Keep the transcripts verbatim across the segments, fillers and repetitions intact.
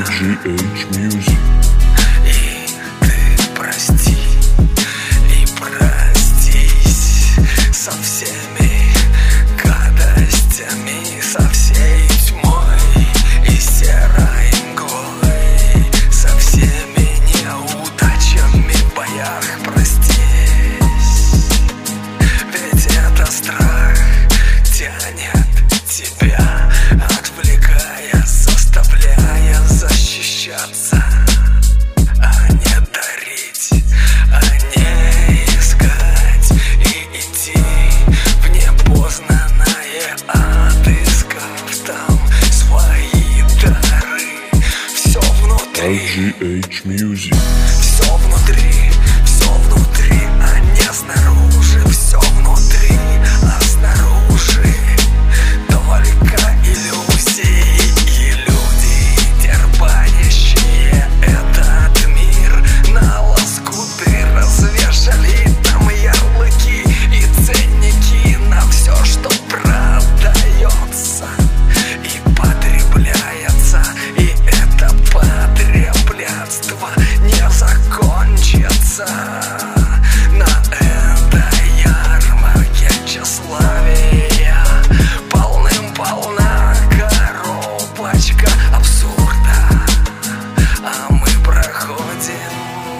джи эйч Music. И ты прости, и простись со всеми гадостями, со всей тьмой и серой мглой, со всеми неудачами в боях. Простись, ведь это страх тянет тебя, отвлекая, заставляя защищаться, а не дарить, а не искать и идти в непознанное, отыскав там свои дары. Все внутри, джи эйч Music. все внутри, все внутри, а не снаружи. Все внутри, а снаружи только иллюзии и люди, дербанящие этот мир на лоскуты, развешали там ярлыки и ценники на все, что продается и потребляется. И это потреблятство не закончится на этой ярмарке тщеславия. Полным-полна коробочка абсурда, а мы проходим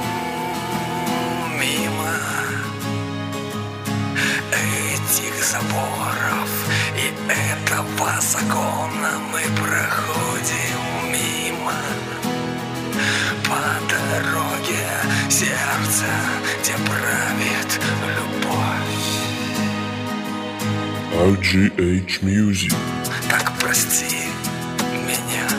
мимо этих заборов и этого закона. Мы проходим мимо по дороге сердца, где правит любовь. джи эйч Music. Так прости меня,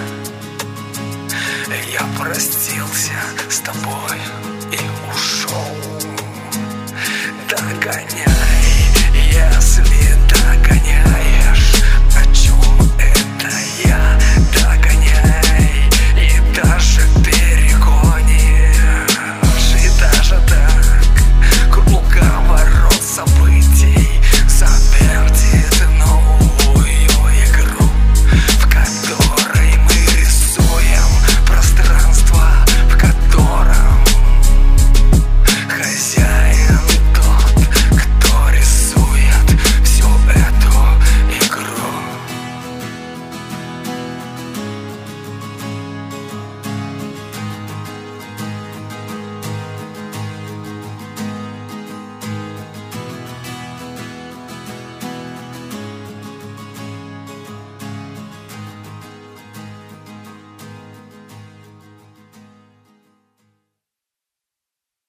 я простился с тобой и ушел догонять